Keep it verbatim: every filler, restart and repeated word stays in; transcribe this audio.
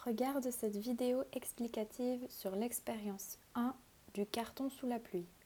Regarde cette vidéo explicative sur l'expérience un du carton sous la pluie.